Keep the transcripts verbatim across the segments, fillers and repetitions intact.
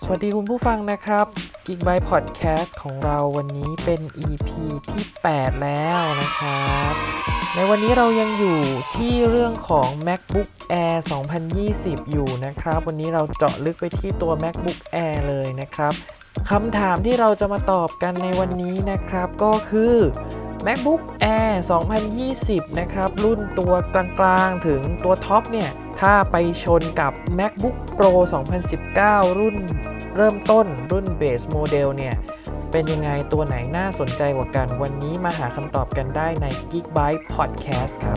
วัสดีคุณผู้ฟังนะครับ Geekbyte Podcast ของเราวันนี้เป็น อี พี ที่แปดแล้วนะครับในวันนี้เรายังอยู่ที่เรื่องของ MacBook Air สองพันยี่สิบอยู่นะครับวันนี้เราเจาะลึกไปที่ตัว MacBook Air เลยนะครับคำถามที่เราจะมาตอบกันในวันนี้นะครับก็คือ MacBook Air สองพันยี่สิบนะครับรุ่นตัวกลางๆถึงตัวท็อปเนี่ยถ้าไปชนกับ MacBook Pro สองพันสิบเก้ารุ่นเริ่มต้นรุ่น Base Model เนี่ยเป็นยังไงตัวไหนน่าสนใจกว่ากันวันนี้มาหาคำตอบกันได้ใน Geekbyte Podcast ครับ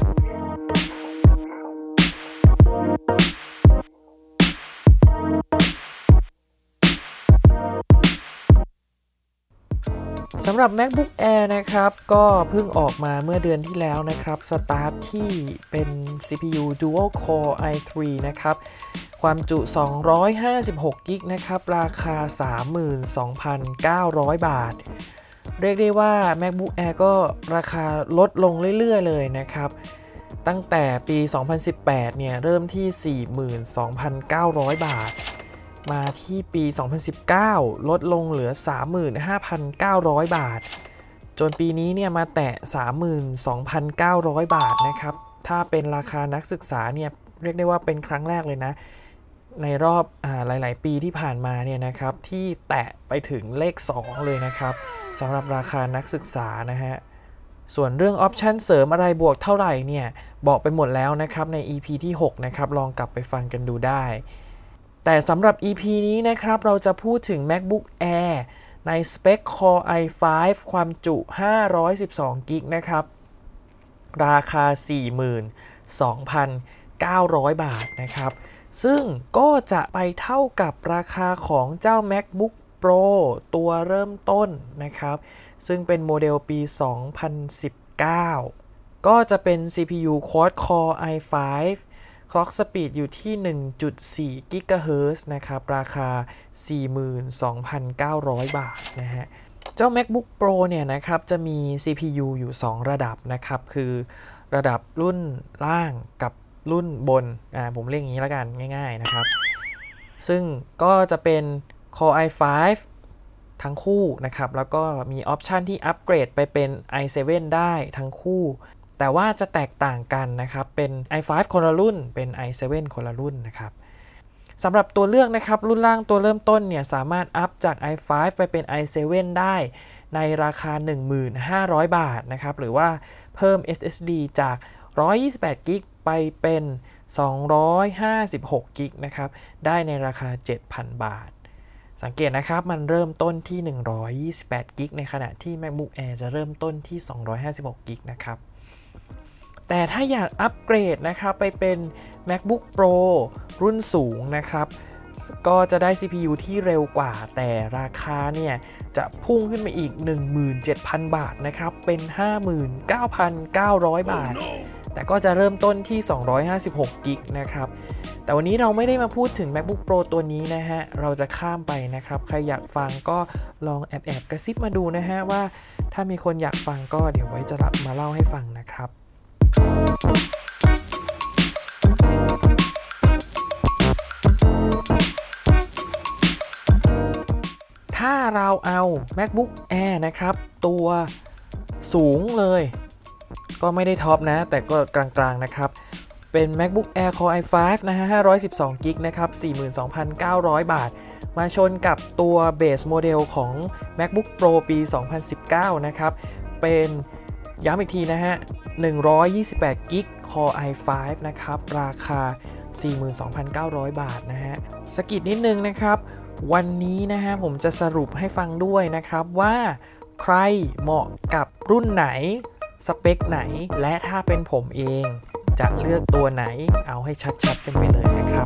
สำหรับ MacBook Air นะครับก็เพิ่งออกมาเมื่อเดือนที่แล้วนะครับสตาร์ทที่เป็น ซี พี ยู Dual Core ไอ ทรี นะครับความจุสองร้อยห้าสิบหกกิกะไบต์นะครับราคา สามหมื่นสองพันเก้าร้อย บาทเรียกได้ว่า MacBook Air ก็ราคาลดลงเรื่อยๆเลยนะครับตั้งแต่ปีสองพันสิบแปดเนี่ยเริ่มที่ สี่หมื่นสองพันเก้าร้อย บาทมาที่ปีสองพันสิบเก้าลดลงเหลือ สามหมื่นห้าพันเก้าร้อย บาทจนปีนี้เนี่ยมาแตะ สามหมื่นสองพันเก้าร้อย บาทนะครับถ้าเป็นราคานักศึกษาเนี่ยเรียกได้ว่าเป็นครั้งแรกเลยนะในรอบอ่าหลายๆปีที่ผ่านมาเนี่ยนะครับที่แตะไปถึงเลขสองเลยนะครับสำหรับราคานักศึกษานะฮะส่วนเรื่องออปชันเสริมอะไรบวกเท่าไหร่เนี่ยบอกไปหมดแล้วนะครับใน อี พี ที่หกนะครับลองกลับไปฟังกันดูได้แต่สำหรับ อี พี นี้นะครับเราจะพูดถึง MacBook Air ในสเปค Core ไอ ไฟว์ ความจุห้าร้อยสิบสองกิกะไบต์นะครับราคา สี่หมื่นสองพันเก้าร้อย บาทนะครับซึ่งก็จะไปเท่ากับราคาของเจ้า MacBook Pro ตัวเริ่มต้นนะครับซึ่งเป็นโมเดลปีสองพันสิบเก้าก็จะเป็น ซี พี ยู Quad Core ไอ ไฟว์ Clock Speed อยู่ที่ หนึ่งจุดสี่ กิกะเฮิรตซ์นะครับราคา สี่หมื่นสองพันเก้าร้อย บาทนะฮะเจ้า MacBook Pro เนี่ยนะครับจะมี ซี พี ยู อยู่สองระดับนะครับคือระดับรุ่นล่างกับรุ่นบนอ่าผมเรียกอย่างนี้แล้วกันง่ายๆนะครับซึ่งก็จะเป็น Core ไอ ไฟว์ ทั้งคู่นะครับแล้วก็มีออปชันที่อัปเกรดไปเป็น ไอ เซเว่น ได้ทั้งคู่แต่ว่าจะแตกต่างกันนะครับเป็น ไอ ไฟว์ คนละรุ่นเป็น ไอ เซเว่น คนละรุ่นนะครับสำหรับตัวเลือกนะครับรุ่นล่างตัวเริ่มต้นเนี่ยสามารถอัพจาก ไอ ไฟว์ ไปเป็น ไอ เซเว่น ได้ในราคา หนึ่งพันห้าร้อย บาทนะครับหรือว่าเพิ่ม เอส เอส ดี จากหนึ่งร้อยยี่สิบแปดกิกะไบต์ไปเป็นสองร้อยห้าสิบหกกิกะไบต์นะครับได้ในราคา เจ็ดพัน บาทสังเกตนะครับมันเริ่มต้นที่หนึ่งร้อยยี่สิบแปดกิกะไบต์ในขณะที่ MacBook Air จะเริ่มต้นที่สองร้อยห้าสิบหกกิกะไบต์นะครับแต่ถ้าอยากอัปเกรดนะครับไปเป็น MacBook Pro รุ่นสูงนะครับก็จะได้ ซี พี ยู ที่เร็วกว่าแต่ราคาเนี่ยจะพุ่งขึ้นมาอีก หนึ่งหมื่นเจ็ดพัน บาทนะครับเป็น ห้าหมื่นเก้าพันเก้าร้อย บาท oh, no. แต่ก็จะเริ่มต้นที่สองร้อยห้าสิบหกกิกะไบต์นะครับแต่วันนี้เราไม่ได้มาพูดถึง MacBook Pro ตัวนี้นะฮะเราจะข้ามไปนะครับใครอยากฟังก็ลองแอบแอบกระซิบมาดูนะฮะว่าถ้ามีคนอยากฟังก็เดี๋ยวไว้จะรับมาเล่าให้ฟังนะครับถ้าเราเอา MacBook Air นะครับตัวสูงเลยก็ไม่ได้ท็อปนะแต่ก็กลางๆนะครับเป็น MacBook Air Core ไอ ไฟว์ นะฮะห้าร้อยสิบสองกิกะไบต์นะครับ สี่หมื่นสองพันเก้าร้อย บาทมาชนกับตัว Base Model ของ MacBook Pro ปีสองพันสิบเก้านะครับเป็นย้ำอีกทีนะฮะหนึ่งร้อยยี่สิบแปดกิกะไบต์ Core ไอ ไฟว์ นะครับราคา สี่หมื่นสองพันเก้าร้อย บาทนะฮะสกิดนิดนึงนะครับวันนี้นะฮะผมจะสรุปให้ฟังด้วยนะครับว่าใครเหมาะกับรุ่นไหนสเปคไหนและถ้าเป็นผมเองจะเลือกตัวไหนเอาให้ชัดๆกันไปเลยนะครับ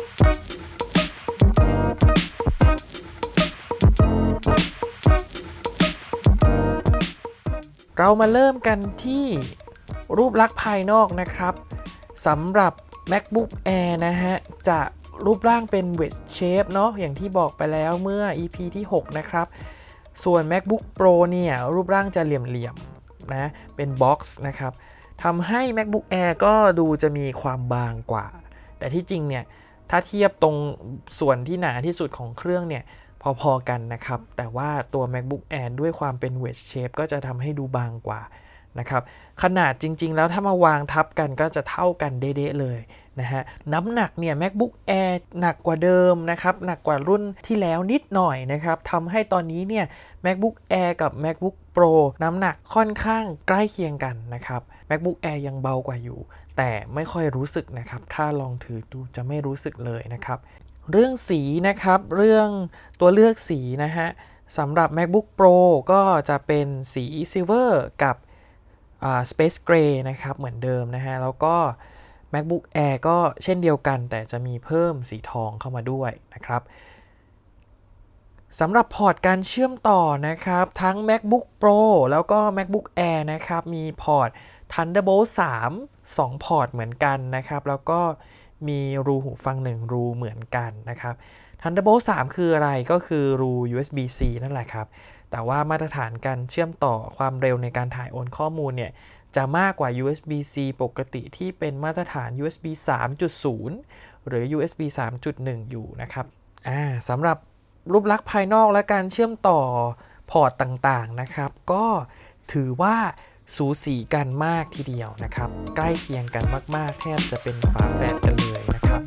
เรามาเริ่มกันที่รูปลักษณ์ภายนอกนะครับสำหรับ MacBook Air นะฮะจะรูปร่างเป็น wedge shape เนาะอย่างที่บอกไปแล้วเมื่อ อี พี ที่หกนะครับส่วน MacBook Pro เนี่ยรูปร่างจะเหลี่ยมๆนะเป็น box นะครับทำให้ MacBook Air ก็ดูจะมีความบางกว่าแต่ที่จริงเนี่ยถ้าเทียบตรงส่วนที่หนาที่สุดของเครื่องเนี่ยพอๆกันนะครับแต่ว่าตัว MacBook Air ด้วยความเป็น wedge shape ก็จะทำให้ดูบางกว่านะครับขนาดจริงๆแล้วถ้ามาวางทับกันก็จะเท่ากันเด๊ะๆเลยนะฮะน้ำหนักเนี่ย MacBook Air หนักกว่าเดิมนะครับหนักกว่ารุ่นที่แล้วนิดหน่อยนะครับทำให้ตอนนี้เนี่ย MacBook Air กับ MacBook Pro น้ำหนักค่อนข้างใกล้เคียงกันนะครับ MacBook Air ยังเบากว่าอยู่แต่ไม่ค่อยรู้สึกนะครับถ้าลองถือดูจะไม่รู้สึกเลยนะครับเรื่องสีนะครับเรื่องตัวเลือกสีนะฮะสำหรับ MacBook Pro ก็จะเป็นสี Silver กับSpace Gray นะครับเหมือนเดิมนะฮะแล้วก็ MacBook Air ก็เช่นเดียวกันแต่จะมีเพิ่มสีทองเข้ามาด้วยนะครับสำหรับพอร์ตการเชื่อมต่อนะครับทั้ง MacBook Pro แล้วก็ MacBook Air นะครับมีพอร์ต Thunderbolt สาม สองพอร์ตเหมือนกันนะครับแล้วก็มีรูหูฟังหนึ่งรูเหมือนกันนะครับ Thunderbolt สาม คืออะไรก็คือรู ยู เอส บี ซี นั่นแหละครับแต่ว่ามาตรฐานการเชื่อมต่อความเร็วในการถ่ายโอนข้อมูลเนี่ยจะมากกว่า ยู เอส บี ซี ปกติที่เป็นมาตรฐาน ยู เอส บี สามจุดศูนย์ หรือ ยู เอส บี สามจุดหนึ่ง อยู่นะครับอ่าสำหรับรูปลักษณ์ภายนอกและการเชื่อมต่อพอร์ตต่างๆนะครับก็ถือว่าสูสีกันมากทีเดียวนะครับใกล้เคียงกันมากๆแทบจะเป็นฝาแฝดกันเลยนะครับ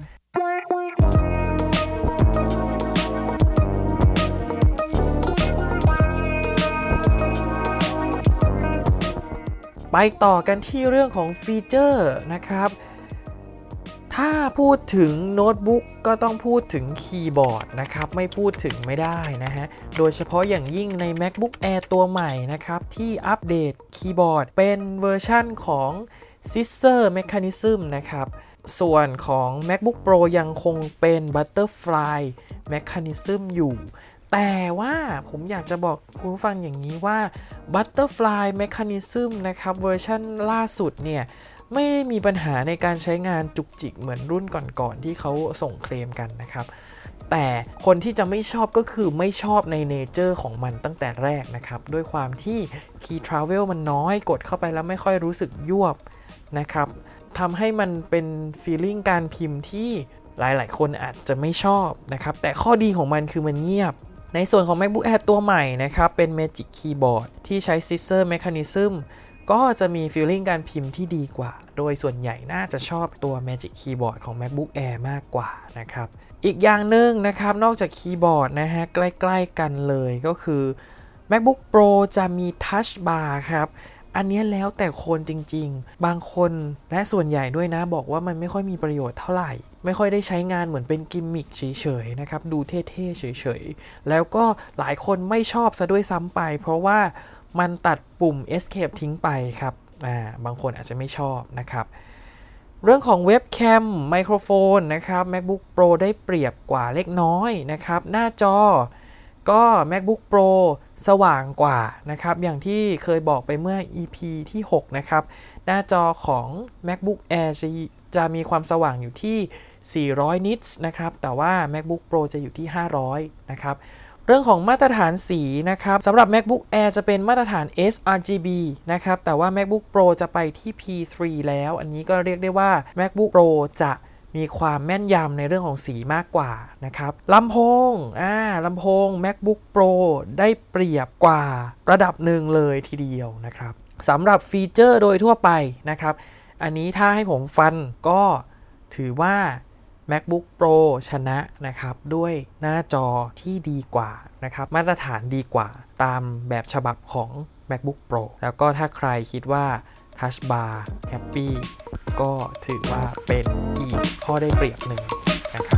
ไปต่อกันที่เรื่องของฟีเจอร์นะครับถ้าพูดถึงโน้ตบุ๊กก็ต้องพูดถึงคีย์บอร์ดนะครับไม่พูดถึงไม่ได้นะฮะโดยเฉพาะอย่างยิ่งใน MacBook Air ตัวใหม่นะครับที่อัปเดตคีย์บอร์ดเป็นเวอร์ชั่นของ Scissor Mechanism นะครับส่วนของ MacBook Pro ยังคงเป็น Butterfly Mechanism อยู่แต่ว่าผมอยากจะบอกคุณผู้ฟังอย่างนี้ว่า Butterfly Mechanism นะครับเวอร์ชันล่าสุดเนี่ยไม่ได้มีปัญหาในการใช้งานจุกจิกเหมือนรุ่นก่อนๆที่เขาส่งเคลมกันนะครับแต่คนที่จะไม่ชอบก็คือไม่ชอบในเนเจอร์ของมันตั้งแต่แรกนะครับด้วยความที่ Key Travel มันน้อยกดเข้าไปแล้วไม่ค่อยรู้สึกยวบนะครับทำให้มันเป็น feeling การพิมพ์ที่หลายๆคนอาจจะไม่ชอบนะครับแต่ข้อดีของมันคือมันเงียบในส่วนของ MacBook Air ตัวใหม่นะครับเป็น Magic Keyboard ที่ใช้ Scissor Mechanism ก็จะมี feeling การพิมพ์ที่ดีกว่าโดยส่วนใหญ่น่าจะชอบตัว Magic Keyboard ของ MacBook Air มากกว่านะครับอีกอย่างหนึ่งนะครับนอกจากคีย์บอร์ดนะฮะใกล้ๆกันเลยก็คือ MacBook Pro จะมี Touch Bar ครับอันนี้แล้วแต่คนจริงๆบางคนและส่วนใหญ่ด้วยนะบอกว่ามันไม่ค่อยมีประโยชน์เท่าไหร่ไม่ค่อยได้ใช้งานเหมือนเป็นกิมมิคเฉยๆนะครับดูเท่ๆเฉยๆแล้วก็หลายคนไม่ชอบซะด้วยซ้ำไปเพราะว่ามันตัดปุ่ม Escape ทิ้งไปครับอ่าบางคนอาจจะไม่ชอบนะครับเรื่องของเว็บแคมไมโครโฟนนะครับ MacBook Pro ได้เปรียบกว่าเล็กน้อยนะครับหน้าจอก็ MacBook Pro สว่างกว่านะครับอย่างที่เคยบอกไปเมื่อ อี พี ที่หกนะครับหน้าจอของ MacBook Air จะจะมีความสว่างอยู่ที่สี่ร้อยนิตส์นะครับแต่ว่า MacBook Pro จะอยู่ที่ห้าร้อยนะครับเรื่องของมาตรฐานสีนะครับสำหรับ MacBook Air จะเป็นมาตรฐาน เอส อาร์ จี บี นะครับแต่ว่า MacBook Pro จะไปที่ พี ทรี แล้วอันนี้ก็เรียกได้ว่า MacBook Pro จะมีความแม่นยำในเรื่องของสีมากกว่านะครับลำโพงอ่าลำโพง MacBook Pro ได้เปรียบกว่าระดับหนึ่งเลยทีเดียวนะครับสำหรับฟีเจอร์โดยทั่วไปนะครับอันนี้ถ้าให้ผมฟันก็ถือว่า MacBook Pro ชนะนะครับด้วยหน้าจอที่ดีกว่านะครับมาตรฐานดีกว่าตามแบบฉบับของ MacBook Pro แล้วก็ถ้าใครคิดว่า Touch Bar Happy ก็ถือว่าเป็นอีกข้อได้เปรียบหนึ่งนะครับ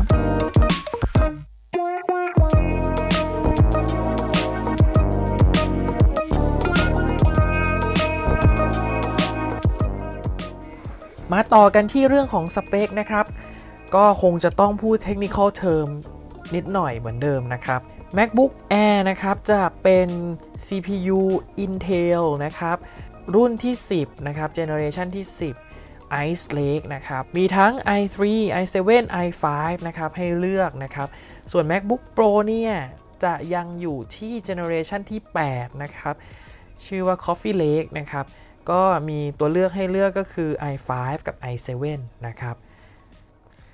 มาต่อกันที่เรื่องของสเปคนะครับก็คงจะต้องพูด technical term นิดหน่อยเหมือนเดิมนะครับ MacBook Air นะครับจะเป็น ซี พี ยู Intel นะครับรุ่นที่สิบนะครับ generation ที่สิบ Ice Lake นะครับมีทั้ง ไอ ทรี ไอ เซเว่น ไอ ไฟว์ นะครับให้เลือกนะครับส่วน MacBook Pro เนี่ยจะยังอยู่ที่ generation ที่แปดนะครับชื่อว่า Coffee Lake นะครับก็มีตัวเลือกให้เลือกก็คือ ไอ ไฟว์ กับ ไอ เซเว่น นะครับ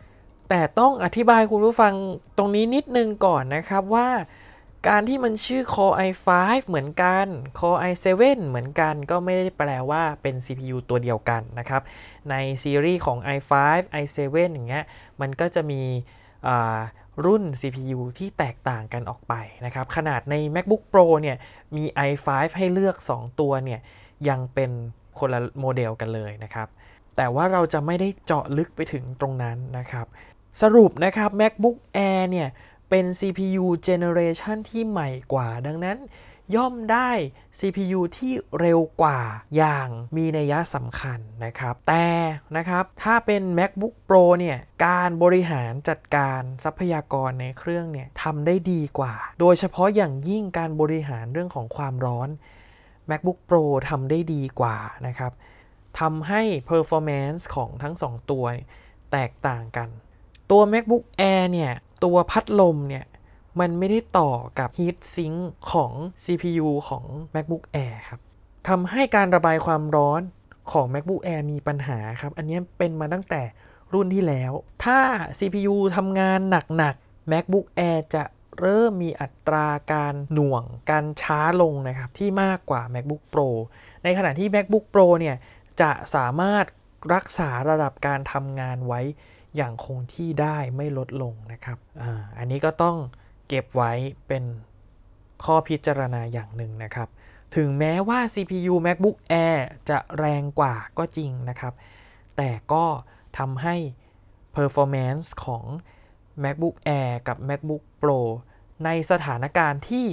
แต่ต้องอธิบายคุณผู้ฟังตรงนี้นิดนึงก่อนนะครับว่าการที่มันชื่อ Core ไอ ไฟว์ เหมือนกัน Core ไอ เซเว่น เหมือนกันก็ไม่ได้แปลว่าเป็น ซี พี ยู ตัวเดียวกันนะครับในซีรีส์ของ ไอ ไฟว์ ไอ เซเว่น อย่างเงี้ยมันก็จะมีรุ่น ซี พี ยู ที่แตกต่างกันออกไปนะครับขนาดใน MacBook Pro เนี่ยมี ไอ ไฟว์ ให้เลือกสองตัวเนี่ยยังเป็นคนละโมเดลกันเลยนะครับแต่ว่าเราจะไม่ได้เจาะลึกไปถึงตรงนั้นนะครับสรุปนะครับ MacBook Air เนี่ยเป็น ซี พี ยู Generation ที่ใหม่กว่าดังนั้นย่อมได้ ซี พี ยู ที่เร็วกว่าอย่างมีนัยสำคัญนะครับแต่นะครับถ้าเป็น MacBook Pro เนี่ยการบริหารจัดการทรัพยากรในเครื่องเนี่ยทำได้ดีกว่าโดยเฉพาะอย่างยิ่งการบริหารเรื่องของความร้อน MacBook Pro ทำได้ดีกว่านะครับทำให้ performance ของทั้งสองตัวแตกต่างกันตัว MacBook Air เนี่ยตัวพัดลมเนี่ยมันไม่ได้ต่อกับ Heat Sink ของ ซี พี ยู ของ MacBook Air ครับทำให้การระบายความร้อนของ MacBook Air มีปัญหาครับอันนี้เป็นมาตั้งแต่รุ่นที่แล้วถ้า ซี พี ยู ทำงานหนักๆ MacBook Air จะเริ่มมีอัตราการหน่วงการช้าลงนะครับที่มากกว่า MacBook Pro ในขณะที่ MacBook Pro เนี่ยจะสามารถรักษาระดับการทำงานไว้อย่างคงที่ได้ไม่ลดลงนะครับ อ่า อันนี้ก็ต้องเก็บไว้เป็นข้อพิจารณาอย่างหนึ่งนะครับถึงแม้ว่า ซี พี ยู MacBook Air จะแรงกว่าก็จริงนะครับแต่ก็ทำให้ performance ของ MacBook Air กับ MacBook Pro ในสถานการณ์ที่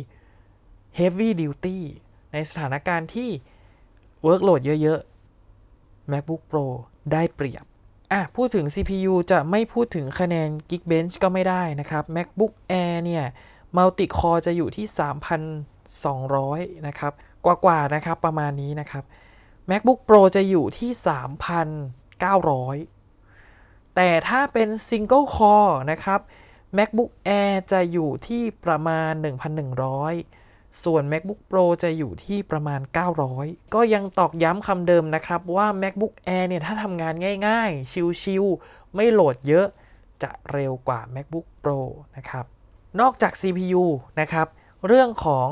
heavy duty ในสถานการณ์ที่ workload เยอะๆ MacBook Pro ได้เปรียบอ่ะพูดถึง ซี พี ยู จะไม่พูดถึงคะแนน Geekbench ก็ไม่ได้นะครับ MacBook Air เนี่ย Multi Core จะอยู่ที่ สามพันสองร้อย นะครับกว่าๆนะครับประมาณนี้นะครับ MacBook Pro จะอยู่ที่ สามพันเก้าร้อย แต่ถ้าเป็น Single Core นะครับ MacBook Air จะอยู่ที่ประมาณ หนึ่งพันหนึ่งร้อย ส่วน MacBook Pro จะอยู่ที่ประมาณเก้าร้อยก็ยังตอกย้ำคำเดิมนะครับว่า MacBook Air เนี่ยถ้าทำงานง่ายๆชิลๆไม่โหลดเยอะจะเร็วกว่า MacBook Pro นะครับนอกจาก ซี พี ยู นะครับเรื่องของ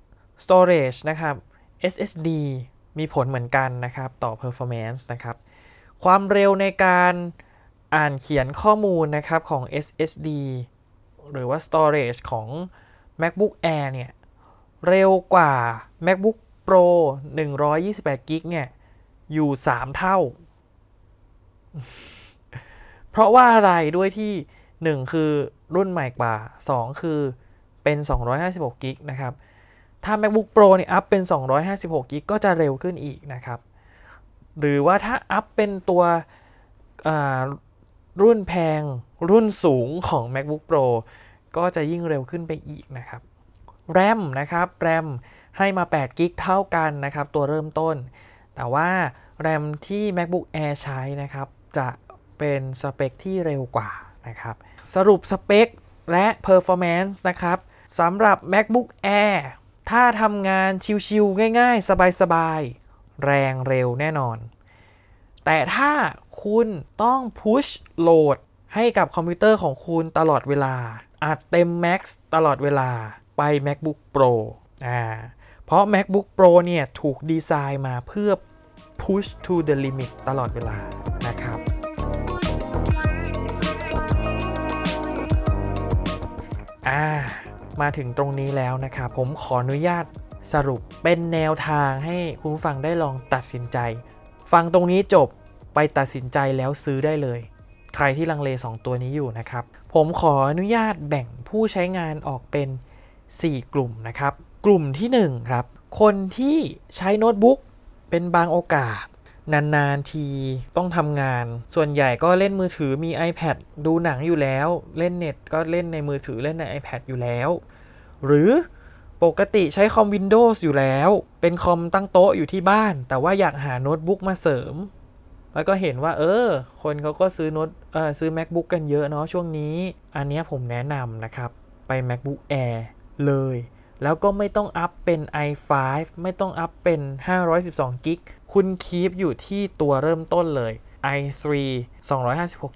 storage นะครับ เอส เอส ดี มีผลเหมือนกันนะครับต่อ performance นะครับความเร็วในการอ่านเขียนข้อมูลนะครับของ เอส เอส ดี หรือว่า storage ของ MacBook Air เนี่ยเร็วกว่า MacBook Pro หนึ่งร้อยยี่สิบแปด กิกเนี่ยอยู่สามเท่า เพราะว่าอะไรด้วยที่หนึ่งคือรุ่นใหม่กว่าสองคือเป็นสองร้อยห้าสิบหกกิกนะครับถ้า MacBook Pro เนี่ยอัพเป็นสองร้อยห้าสิบหกกิกก็จะเร็วขึ้นอีกนะครับหรือว่าถ้าอัพเป็นตัวรุ่นแพงรุ่นสูงของ MacBook Pro ก็จะยิ่งเร็วขึ้นไปอีกนะครับ RAM นะครับ RAM ให้มาแปดกิกเท่ากันนะครับตัวเริ่มต้นแต่ว่า RAM ที่ MacBook Air ใช้นะครับจะเป็นสเปคที่เร็วกว่านะครับสรุปสเปคและ performance นะครับสำหรับ MacBook Air ถ้าทำงานชิลๆง่ายๆสบายๆแรงเร็วแน่นอนแต่ถ้าคุณต้อง push load ให้กับคอมพิวเตอร์ของคุณตลอดเวลาอัดเต็ม Max ตลอดเวลาไป MacBook Pro อ่าเพราะ MacBook Pro เนี่ยถูกดีไซน์มาเพื่อ push to the limit ตลอดเวลานะครับอ่ามาถึงตรงนี้แล้วนะครับผมขออนุญาตสรุปเป็นแนวทางให้คุณผู้ฟังได้ลองตัดสินใจฟังตรงนี้จบไปตัดสินใจแล้วซื้อได้เลยใครที่ลังเลสองตัวนี้อยู่นะครับผมขออนุญาตแบ่งผู้ใช้งานออกเป็นสี่กลุ่มนะครับกลุ่มที่หนึ่งครับคนที่ใช้โน้ตบุ๊กเป็นบางโอกาสนานๆทีต้องทำงานส่วนใหญ่ก็เล่นมือถือมี iPad ดูหนังอยู่แล้วเล่นเน็ตก็เล่นในมือถือเล่นใน iPad อยู่แล้วหรือปกติใช้คอม Windows อยู่แล้วเป็นคอมตั้งโต๊ะอยู่ที่บ้านแต่ว่าอยากหาโน้ตบุ๊กมาเสริมแล้วก็เห็นว่าเออคนเขาก็ซื้อโน้ตเอ่อซื้อ MacBook กันเยอะเนาะช่วงนี้อันนี้ผมแนะนำนะครับไป MacBook Air เลยแล้วก็ไม่ต้องอัพเป็น ไอ ไฟว์ ไม่ต้องอัพเป็นห้าร้อยสิบสองกิกคุณคีปอยู่ที่ตัวเริ่มต้นเลย ไอ ทรี สองร้อยห้าสิบหกกิก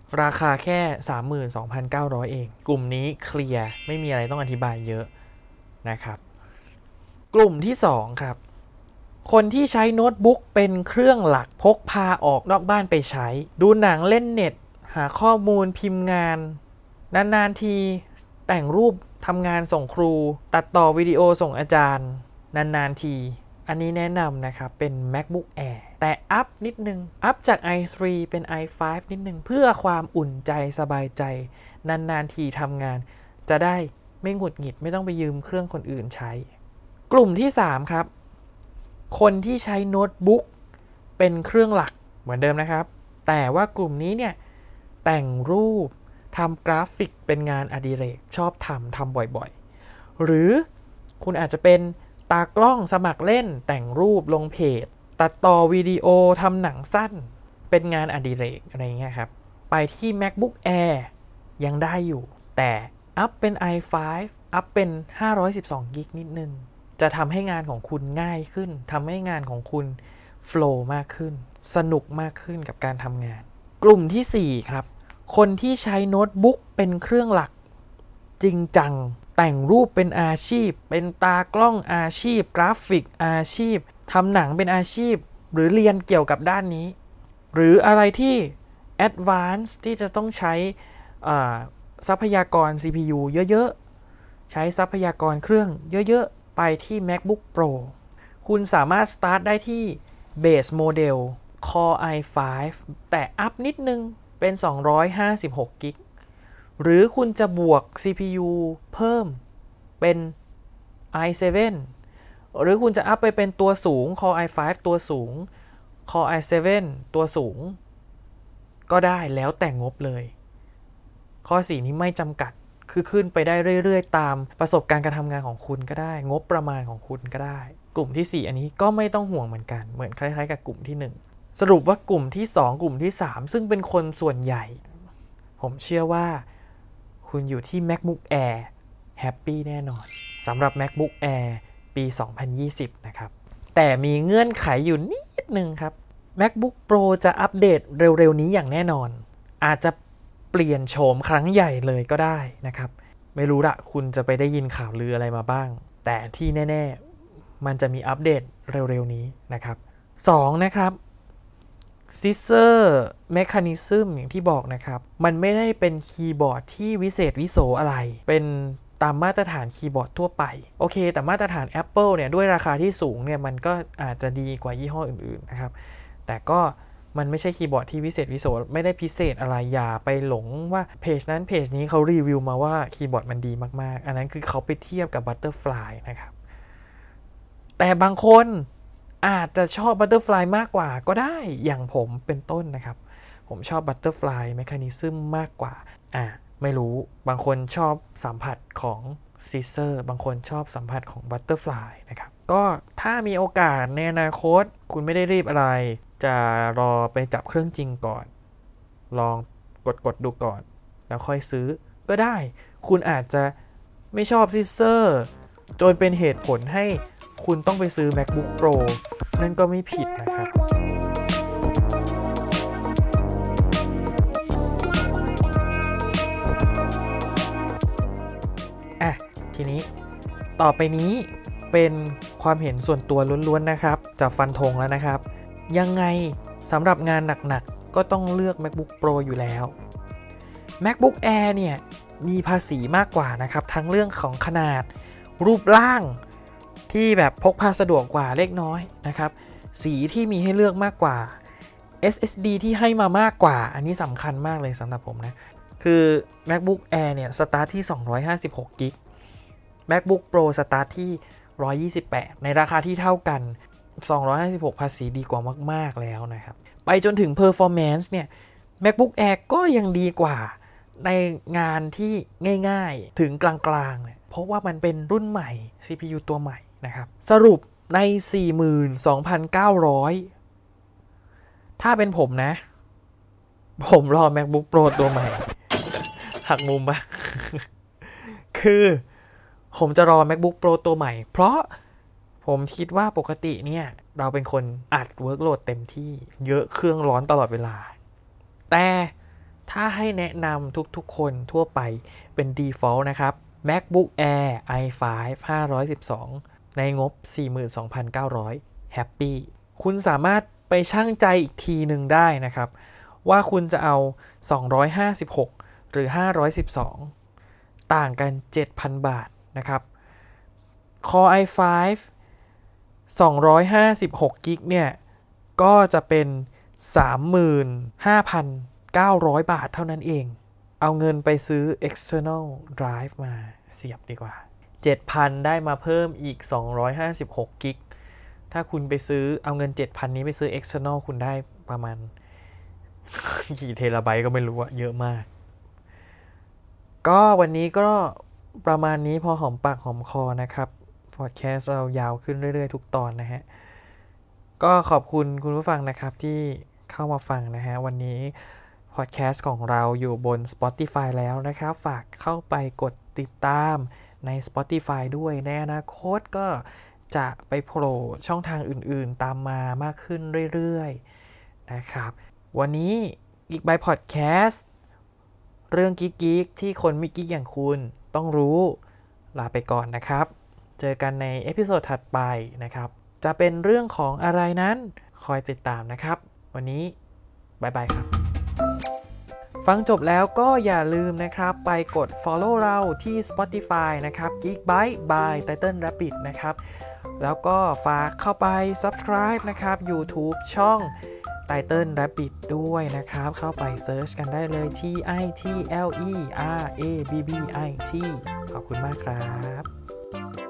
ราคาแค่ สามหมื่นสองพันเก้าร้อย เองกลุ่มนี้เคลียร์ไม่มีอะไรต้องอธิบายเยอะนะครับกลุ่มที่สองครับคนที่ใช้โน้ตบุ๊กเป็นเครื่องหลักพกพาออกนอกบ้านไปใช้ดูหนังเล่นเน็ตหาข้อมูลพิมพ์งานนานๆทีแต่งรูปทำงานส่งครูตัดต่อวิดีโอส่งอาจารย์นานๆทีอันนี้แนะนำนะครับเป็น MacBook Air แต่อัพนิดนึงอัพจาก ไอ ทรี เป็น ไอ ไฟว์ นิดนึงเพื่อความอุ่นใจสบายใจนานๆทีทำงานจะได้ไม่หงุดหงิดไม่ต้องไปยืมเครื่องคนอื่นใช้กลุ่มที่สามครับคนที่ใช้โน้ตบุ๊กเป็นเครื่องหลักเหมือนเดิมนะครับแต่ว่ากลุ่มนี้เนี่ยแต่งรูปทำกราฟิกเป็นงานอดิเรกชอบทำทำบ่อยๆหรือคุณอาจจะเป็นตากล้องสมัครเล่นแต่งรูปลงเพจตัดต่อวิดีโอทำหนังสั้นเป็นงานอดิเรกอะไรเงี้ยครับไปที่ MacBook Air ยังได้อยู่แต่อัพเป็น ไอ ไฟว์ อัพเป็นห้าร้อยสิบสองกิกะไบต์นิดนึงจะทำให้งานของคุณง่ายขึ้นทำให้งานของคุณโฟลว์มากขึ้นสนุกมากขึ้นกับการทำงานกลุ่มที่สี่ครับคนที่ใช้โน้ตบุ๊กเป็นเครื่องหลักจริงจังแต่งรูปเป็นอาชีพเป็นตากล้องอาชีพกราฟิกอาชีพทำหนังเป็นอาชีพหรือเรียนเกี่ยวกับด้านนี้หรืออะไรที่ Advanced ที่จะต้องใช้ทรัพยากร ซี พี ยู เยอะๆใช้ทรัพยากรเครื่องเยอะๆไปที่ MacBook Pro คุณสามารถ start ได้ที่ Base Model Core ไอ ไฟว์ แต่อัพนิดนึงเป็นสองร้อยห้าสิบหกกิกะไบต์หรือคุณจะบวก ซี พี ยู เพิ่มเป็น ไอ เซเว่น หรือคุณจะอัพไปเป็นตัวสูง Core ไอ ไฟว์ ตัวสูง Core ไอ เซเว่น ตัวสูงก็ได้แล้วแต่งบเลยข้อสี่นี้ไม่จำกัดคือขึ้นไปได้เรื่อยๆตามประสบการณ์การทำงานของคุณก็ได้งบประมาณของคุณก็ได้กลุ่มที่สี่อันนี้ก็ไม่ต้องห่วงเหมือนกันเหมือนคล้ายๆกับกลุ่มที่หนึ่งสรุปว่ากลุ่มที่สองกลุ่มที่สามซึ่งเป็นคนส่วนใหญ่ผมเชื่อว่าคุณอยู่ที่ MacBook Air แฮปปี้แน่นอนสำหรับ MacBook Air ปี สองพันยี่สิบ นะครับแต่มีเงื่อนไขอยู่นิดนึงครับ MacBook Pro จะอัปเดตเร็วๆนี้อย่างแน่นอนอาจจะเปลี่ยนโฉมครั้งใหญ่เลยก็ได้นะครับไม่รู้ละคุณจะไปได้ยินข่าวลืออะไรมาบ้างแต่ที่แน่ๆมันจะมีอัปเดตเร็วๆนี้นะครับสองนะครับScissor Mechanism อย่างที่บอกนะครับมันไม่ได้เป็นคีย์บอร์ดที่วิเศษวิโสอะไรเป็นตามมาตรฐานคีย์บอร์ดทั่วไปโอเคแต่มาตรฐาน Apple เนี่ยด้วยราคาที่สูงเนี่ยมันก็อาจจะดีกว่ายี่ห้ออื่นๆนะครับแต่ก็มันไม่ใช่คีย์บอร์ดที่วิเศษวิโสไม่ได้พิเศษอะไรอย่าไปหลงว่าเพจนั้นเพจนี้เขารีวิวมาว่าคีย์บอร์ดมันดีมากๆอันนั้นคือเขาไปเทียบกับ Butterfly นะครับแต่บางคนอาจจะชอบ Butterfly มากกว่าก็ได้อย่างผมเป็นต้นนะครับผมชอบ Butterfly Mechanism มากกว่าอ่ะไม่รู้บางคนชอบสัมผัสของ Scissor บางคนชอบสัมผัสของ Butterfly นะครับก็ถ้ามีโอกาสในอนาคตคุณไม่ได้รีบอะไรจะรอไปจับเครื่องจริงก่อนลองกดกดดูก่อนแล้วค่อยซื้อก็ได้คุณอาจจะไม่ชอบ Scissor จนเป็นเหตุผลให้คุณต้องไปซื้อ MacBook Pro นั่นก็ไม่ผิดนะครับอ่ะทีนี้ต่อไปนี้เป็นความเห็นส่วนตัวล้วนๆนะครับจะฟันธงแล้วนะครับยังไงสำหรับงานหนักๆก็ต้องเลือก MacBook Pro อยู่แล้ว MacBook Air เนี่ยมีภาษีมากกว่านะครับทั้งเรื่องของขนาดรูปร่างที่แบบพกพาสะดวกกว่าเล็กน้อยนะครับสีที่มีให้เลือกมากกว่า เอส เอส ดี ที่ให้มามากกว่าอันนี้สำคัญมากเลยสำหรับผมนะคือ MacBook Air เนี่ยสตาร์ทที่สองร้อยห้าสิบหกกิกะไบต์ MacBook Pro สตาร์ทที่หนึ่งร้อยยี่สิบแปดในราคาที่เท่ากันสองร้อยห้าสิบหกภาษีดีกว่ามากๆแล้วนะครับไปจนถึง performance เนี่ย MacBook Air ก็ยังดีกว่าในงานที่ง่ายๆถึงกลางๆเนี่ยเพราะว่ามันเป็นรุ่นใหม่ ซี พี ยู ตัวใหม่นะครับสรุปใน สี่หมื่นสองพันเก้าร้อย ถ้าเป็นผมนะผมรอ MacBook Pro ตัวใหม่หักมุมปะ คือผมจะรอ MacBook Pro ตัวใหม่เพราะผมคิดว่าปกติเนี่ยเราเป็นคนอัดเวิร์กโหลดเต็มที่เยอะเครื่องร้อนตลอดเวลาแต่ถ้าให้แนะนำทุกๆคนทั่วไปเป็น default นะครับ MacBook Air ไอ ไฟว์ ห้าร้อยสิบสอง ในงบ สี่หมื่นสองพันเก้าร้อย Happy คุณสามารถไปชั่งใจอีกทีหนึ่งได้นะครับว่าคุณจะเอาสองร้อยห้าสิบหกหรือห้าร้อยสิบสองต่างกัน เจ็ดพัน บาทนะครับ Core ไอ ไฟว์ สองร้อยห้าสิบหกกิกเนี่ยก็จะเป็น สามหมื่นห้าพันเก้าร้อย บาทเท่านั้นเองเอาเงินไปซื้อ external drive มาเสียบดีกว่า เจ็ดพัน ได้มาเพิ่มอีกสองร้อยห้าสิบหกกิกถ้าคุณไปซื้อเอาเงิน เจ็ดพัน นี้ไปซื้อ external คุณได้ประมาณ กี่เทราไบต์ก็ไม่รู้อะเยอะมากก็วันนี้ก็ประมาณนี้พอหอมปากหอมคอนะครับพอดแคสต์เรายาวขึ้นเรื่อยๆทุกตอนนะฮะก็ขอบคุณคุณผู้ฟังนะครับที่เข้ามาฟังนะฮะวันนี้พอดแคสต์ของเราอยู่บน Spotify แล้วนะครับฝากเข้าไปกดติดตามใน Spotify ด้วยในอนาคตก็จะไปโผล่ช่องทางอื่นๆตามมามากขึ้นเรื่อยๆนะครับวันนี้อีกใบพอดแคสต์เรื่องกิ๊กๆที่คนไม่กิ๊กอย่างคุณต้องรู้ลาไปก่อนนะครับเจอกันในเอพิโซดถัดไปนะครับจะเป็นเรื่องของอะไรนั้นคอยติดตามนะครับวันนี้บ๊ายบายครับฟังจบแล้วก็อย่าลืมนะครับไปกด follow เราที่ Spotify นะครับ Geekbyte by Title Rabbit นะครับแล้วก็ฝากเข้าไป subscribe นะครับ YouTube ช่อง Title Rabbit ด้วยนะครับเข้าไปเซิร์ชกันได้เลย T I T L E R A B B I T ขอบคุณมากครับ